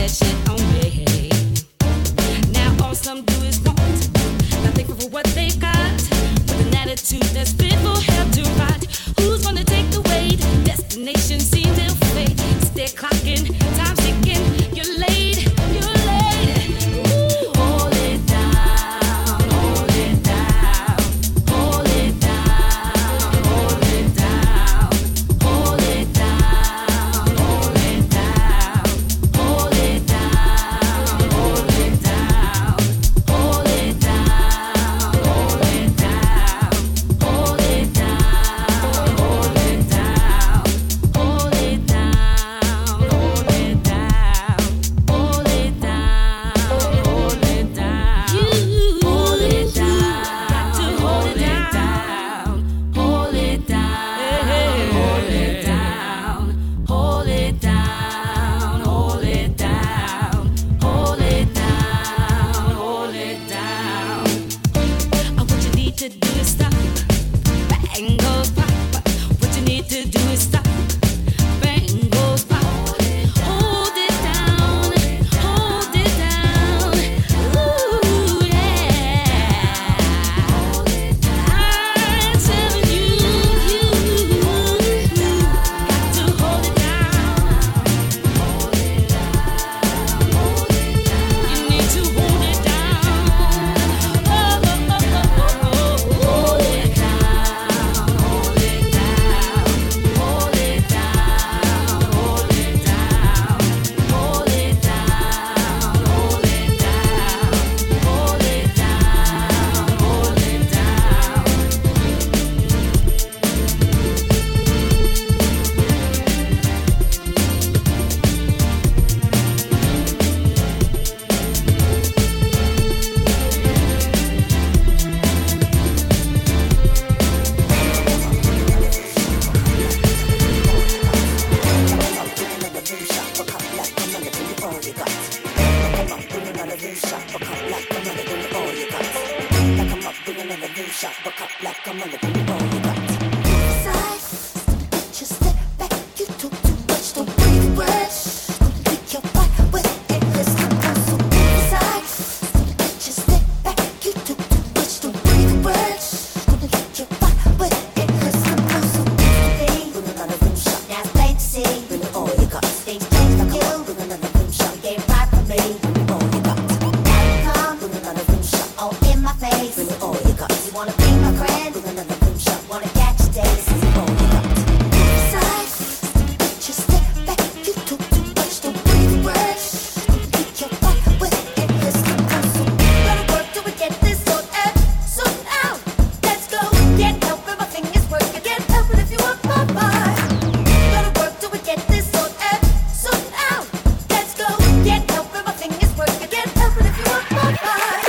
that shit on me. Now all some do is want, not thankful for what they got, with an attitude that's fit for hell to rot. Who's gonna take the weight? Destination seems ill fate. Stay clocking, time's ticking. You're late, you're late. Ooh, hold it down, hold it down, hold it down, hold it down, hold it down, hold it down, hold it down, hold it down, hold it down, hold it down, hold it down, hold it down, hold it down, hold it down, hold it down, hold it down. You hold it down, got to hold it down, hold it down, hold it down, hold it down, hold it down, hold it down, hold it down. What you need to do is stop. Bang goes pop. What you need to do is stop. Bang goes pop. Hold it down. Hold it down. Ooh, yeah. I'm telling you, got to hold it down. You need to hold it down. Oh, oh, oh, oh, oh, hold it down. Hold it down. Hold it down. Hold it down. Hold it down. Hold it down. Hold it down. Hold it down. Just step back, you talk too much, don't breathe words. Pick your fight with it, let's come on, so inside. Just step back, you talk too much, don't breathe words. Pick your fight with it, let's come on, so inside. Bring another room shot, now it's plain to see. Bring it all you got. Things change like you. Bring another room shot, you ain't right for me. Bring it all you got. Now you come, bring another room shot, all in my face. Bring it all you got. You wanna be my friend? Bring another room shot, wanna catch your days. Bring it all you got. Inside, just step back, you talk too much, don't breathe words. Pick your fight with it, let's come on, so gotta work till we get this sorted out. Let's go, get help with my fingers working, get help if you want my vibe. Gotta work till we get this sorted out. Let's go, get help with my fingers working, get help if you want my vibe.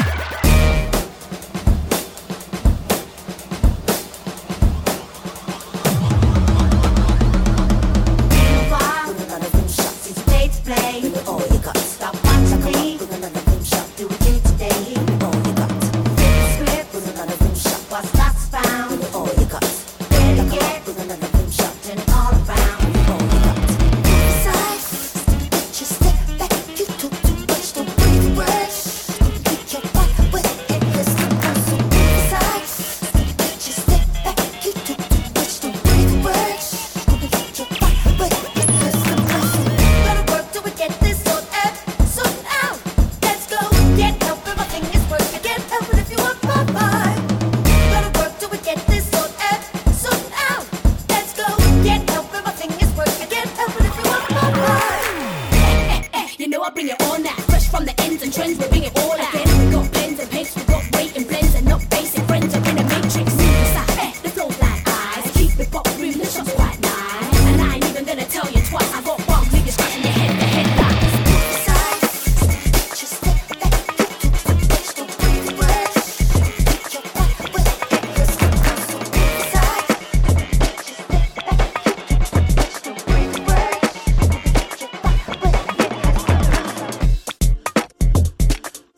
Bring another room shot, since you paid to play. Bring it all you got. Stop watching me. Bring another room shot, do what you do today. Bring it all you got. Script, bring another room shot, what's lost is found. Bring it all you got. Better get, bring another room shot, turn it all around. Bring it all you got. Inside, just step back, you talk too much, don't breathe words. Pick your fight with it, let's come on, so inside. Just step back, you talk too much, don't breathe words. Pick your fight with it, let's come on, so gotta work till we get this sorted out. Let's go, get help with my fingers working, get help if you want my vibe. Gotta work till we get this sorted out. Let's go, get help with my fingers working, get help if you want my vibe. You know I bring it all now. Fresh from the ends and trends, we bring it all out. We got pens and paints, we got weight and blends, and not basic friends are in a matrix. The flow's like eyes, keep it pop room, the shot's quite nice. And I ain't even gonna tell you twice. I got one nigga scratching your head, the headlights. Inside, just step back, you talk too much, don't breathe words. Pick your fight with it, let's come on, so inside. Just step back, you talk too much, don't breathe words. Pick your fight with it, let's come on, so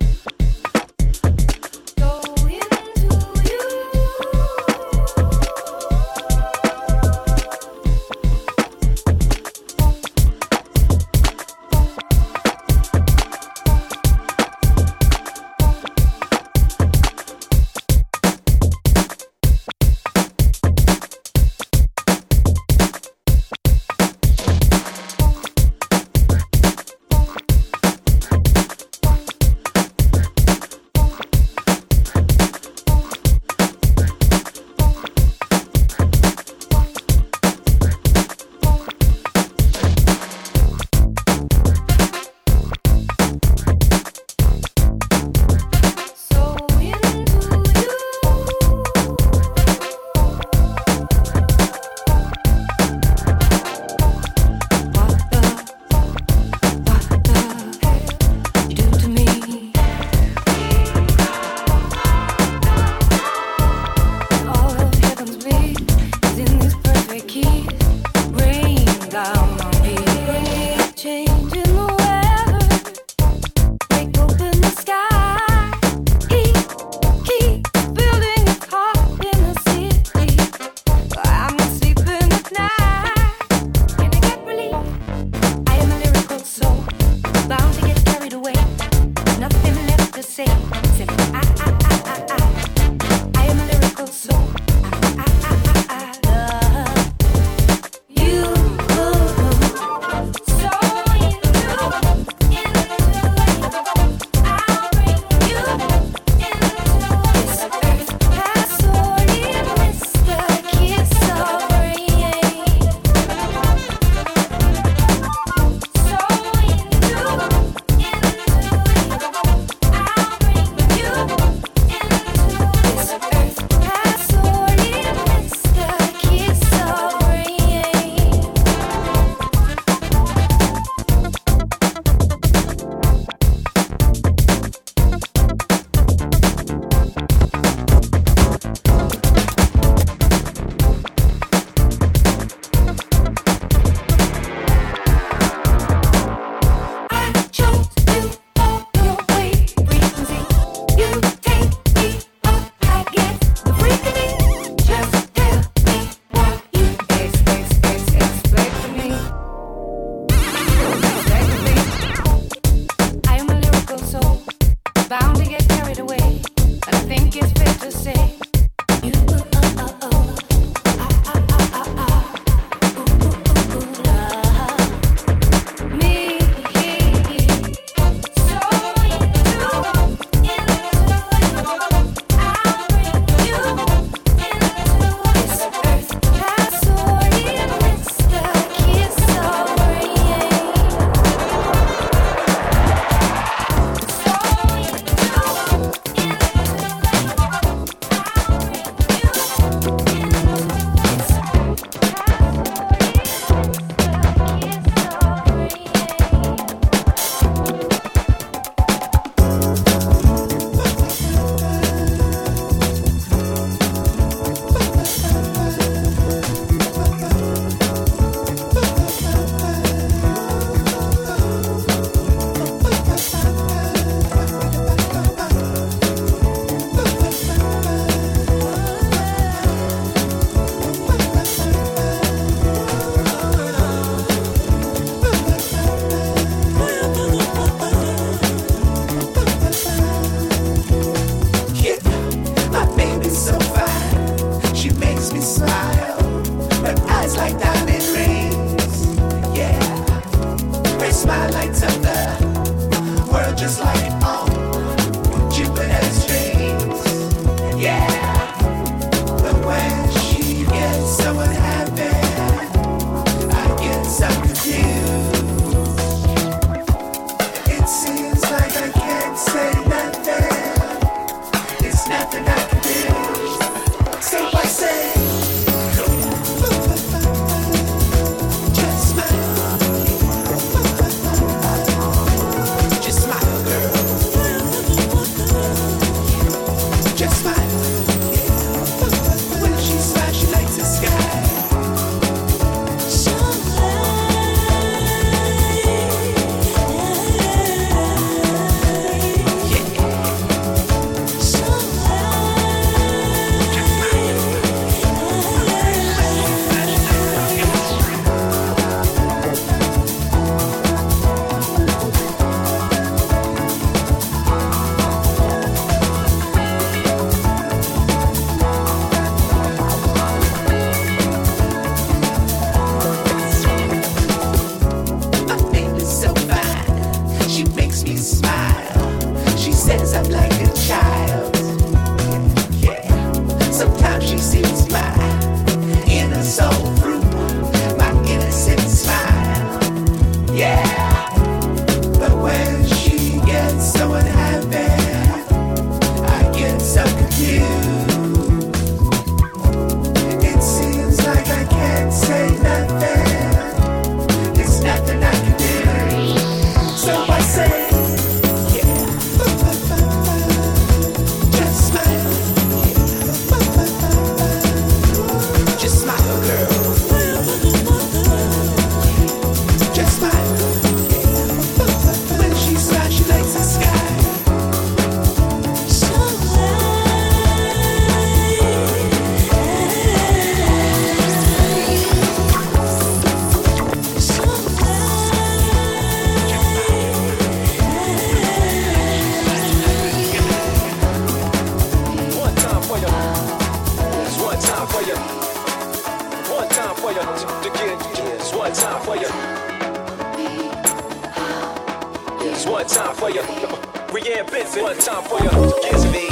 for you. It's one time for you. It's one time for you. Rianne Benson, one time for you. Yes, me.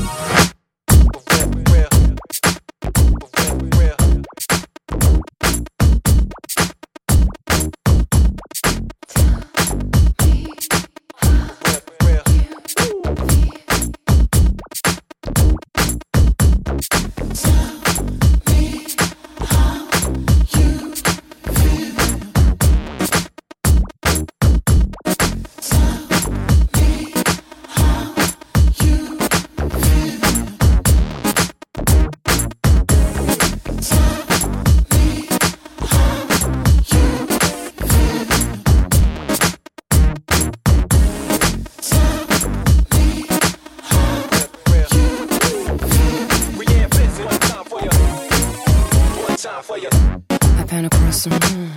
I've been across the room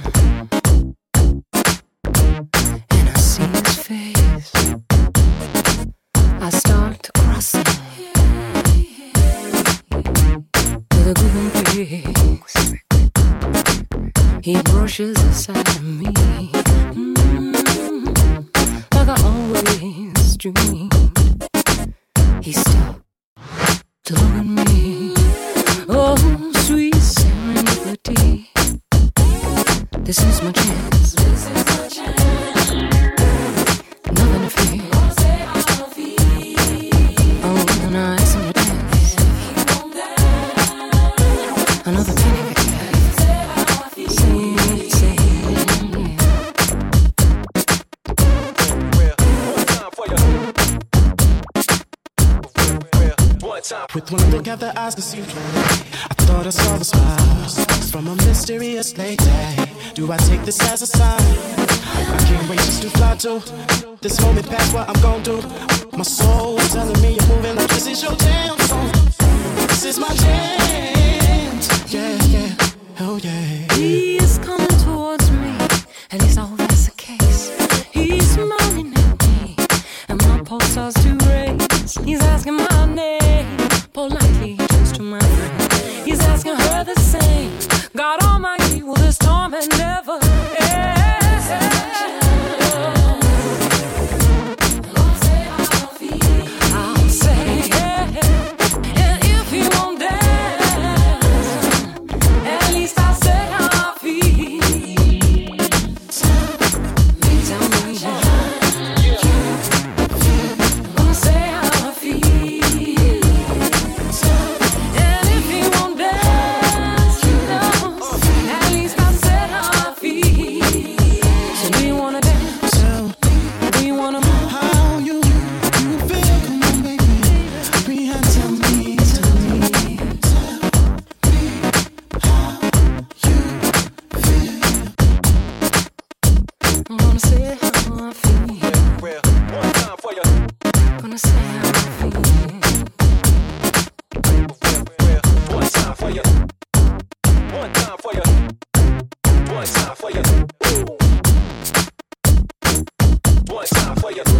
and I see his face. I start to cross him with a good face. He brushes aside of me, like I always dreamed. He stopped to look at me. Oh, sweet serendipity. This is my chance. Nothing to fear. Oh, when I ask him to dance, another penny for cash. Say it, With one look at the eyes that seem clear, I thought I saw the smiles from a mysterious lady. Do I take this as a sign? I can't wait just to fly to this moment past what I'm gon' do. My soul telling me you're moving like this is your damn song. This is my chance. Yeah, yeah, oh yeah. He is coming towards me, at least I hope that's the case. He's smiling at me, and my pulse starts to race. He's asking my name, politely just to my friend. He's asking her the same. God Almighty, will this torment never end? I'll say yeah, and if he won't dance, at least I'll say how I feel. Tell me, gonna say how I feel. And if he won't dance, at least I said how I feel. So do you wanna dance? Do you wanna move? How you feel? Come on, baby. Rihanna, tell me, tell me, I'm gonna say how I feel. One time for you. Gonna say how I feel. One time for you. One time for you. One time for you. One time for you.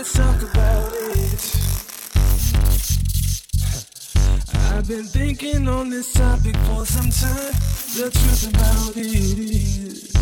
let's talk about it. I've been thinking on this topic for some time. The truth about it is